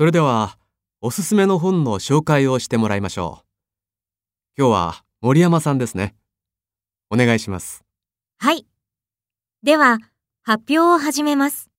それでは、おすすめの本の紹介をしてもらいましょう。今日は森山さんですね。お願いします。 はい。では、発表を始めます。